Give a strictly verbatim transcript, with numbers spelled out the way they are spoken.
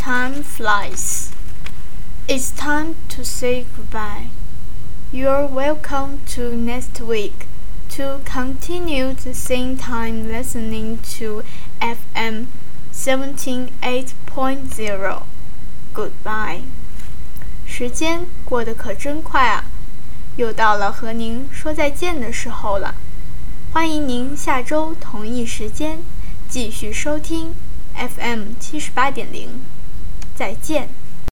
time flies. It's time to say goodbye. You're welcome to next week to continue the same time listening to F M seventy-eight point zero. Goodbye. 时间过得可真快啊，又到了和您说再见的时候了。欢迎您下周同一时间继续收听 F M 七十八点零，再见。